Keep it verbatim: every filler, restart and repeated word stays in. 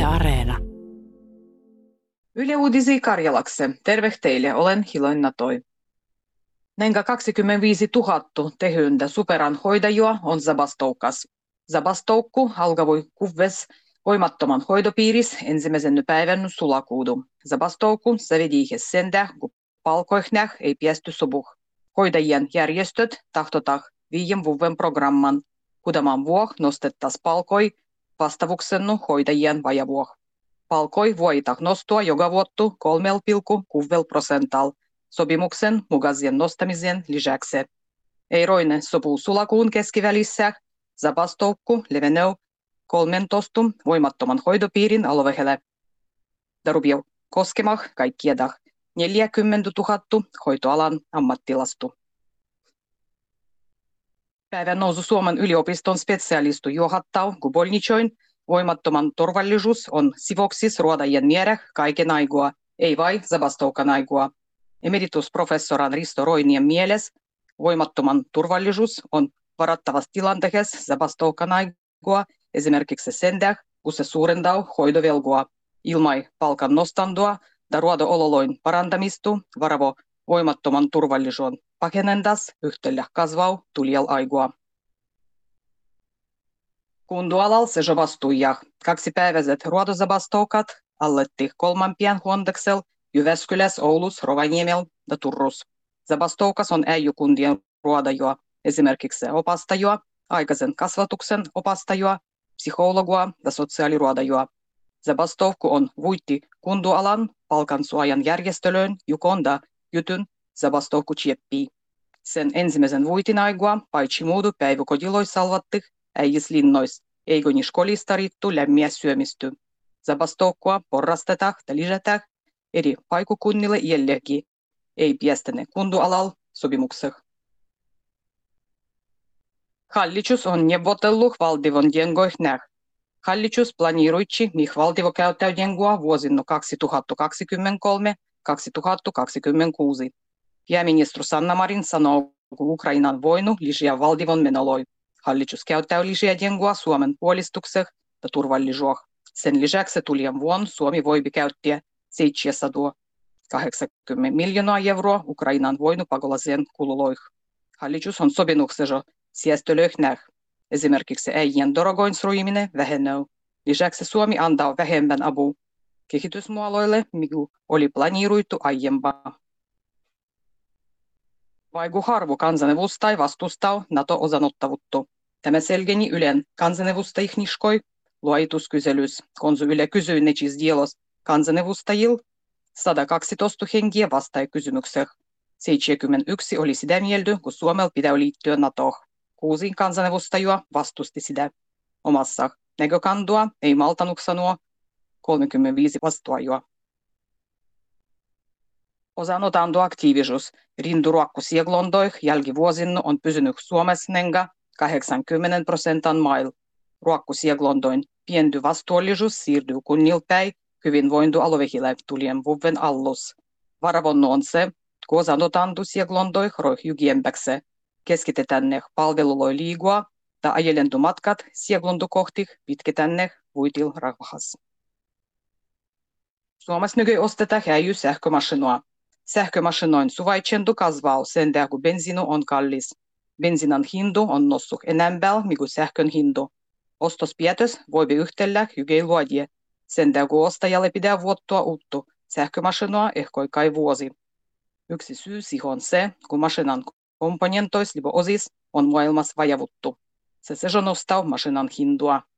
Yle Areena. Yle Uudisi Karjalakse. Terve teille, olen Hiloin Natoi. Nenga kaksikymmentäviisituhatta tehyntä superan hoidajua on zabastoukas. Zabastoukku alkavui kuvves voimattoman hoidopiiris ensimmäisen päivän sulakuudu. Zabastoukku savediihes sendä, kun palkoihnäh ei piesty sobuh. Hoidajien järjestöt tahtotah viiden vuoden programman. Kudaman vuoh nostettas palkoi vastavuksennu hoidajien vajavuoh. Palkoi voitah nostua joka vuottu kolme pilkku kuusi prosental sopimuksen mukaisen nostamisen lisäksi. Eiroinen sopuu sulakuun keskivälissä zabastoukku leveneu kolmentoista voimattoman hoidopiirin alueelle. Darubio koskemah kaikkiedah neljäkymmentätuhatta hoitoalan ammattilastu. Päivän nousu Suomen yliopiston spesialistu johattau kubolnichoin voimattoman turvallisuus on sivoksis ruodajien miereh kaiken aigua, ei vain zabastoukan aigua. Emeritusprofessoran Risto Roinien mieles voimattoman turvallisuus on varattavassa tilanteessa zabastoukan aigua esimerkiksi sendäh, kun se suurendau hoidovelgua. Ilmai palkan nostandua ja ruodo-ololoin parantamistu varavo voimattoman turvallisuuden pakenendas yhtellä kasvau tulijal aigua. Kundualal se jobastujah. Kaksipäiväiset ruodozabastoukat alletti kolmampien huondeksel Jyväskyläs, Oulus, Rovaniemel ja Turrus. Zabastoukas on äijykundien ruodajua, esimerkiksi opastajua, aikaisen kasvatuksen opastajua, psykologua ja sosiaaliruodajua. Zabastoukku on vuitti kundualan palkansuojan järjestelyyn jukonda jutun zabastoukku tjeppii. Sen ensimmäisen vuitin aigua paitsi muudu päiväkodiloi salvattih äijislinnois, eikö ni skolista riittu lämmiä syömisty. Zabastoukkua porrastetaan ja lisätään eri paikukunnille jällekin, ei piestene kundualal sopimukseh. Hallitus on neuvotellut valtion jengoihnäh. Hallitus planiiruitsi mih valtio käyttää jengoa vuosina kaksituhattakaksikymmentäkolme kaksituhattakaksikymmentäkuusi. Pääministeri Sanna Marin sanoo, kun Ukrainan voinu lisää valtion menoloi. Hallitus käyttää lisää jengoa Suomen puolistukseh ja turvallisuuh. Sen lisäksi tulien vuonna Suomi voi käyttää seitsemänsataakahdeksankymmentä miljoonaa euroa Ukrainan voinupakolaisen kululoih. Hallitus on sopimuksessa säästölöhnäh. Esimerkiksi äijien dorogoinsuiminen vähenee. Lisäksi Suomi antaa vähemmän apua kehitysmuoloille, mikä oli planiiruitu aiempaa. Vaiku harvo kansanedustaj vastustaa NATO-osanottavuutta. Tämä selgeni Ylen kansanedustajihniskoi luoituskyselyys, kun Yle kysyi nechis dielos kansanedustajil sata kaksitoista henkiä vastaa kysymykseen. seitsemänkymmentäyksi oli sitä mieltä, kun Suomella pitää liittyä NATOon. Kuusi kansanedustajua vastusti sitä. Omassa näkökandua ei maltanut sanoa kolmekymmentäviisi vastuajua. Osanotantoaktiivisuus rinturuokkusieglondoih jälkivuosina on pysynyt Suomessa nenga kahdeksankymmentä prosentan mail. Ruokkusieglondoin pienty vastuullisuus siirtyy kunnilpäin hyvinvointialueille tulien vuoden allus. Varavonnu on se, kun osanotantoisieglondoih roih jygiempäkse keskitetään ne palveluloi liigua ja ajelentumatkat sieglontokohtih pitketään ne vuitil rahvahas. Suomessa nyky ostetaan häijy sähkömašinoa. Sähkömašinoin suvaitsendu kasvaa sen tähden, kun bensiinu on kallis. Bensiinan hindu on noussut enempää, mikä sähkön hindu. Ostospäätös voi yhtellä hygei luodie. Sen tähden, kun ostajalle pitää vuottua uutta sähkömašinoa ehkä kai vuosi. Yksi syy siihen on se, kun mašinan komponentois libo osis on maailmassa vajavuttu. Se se nostaa mašinan hindua.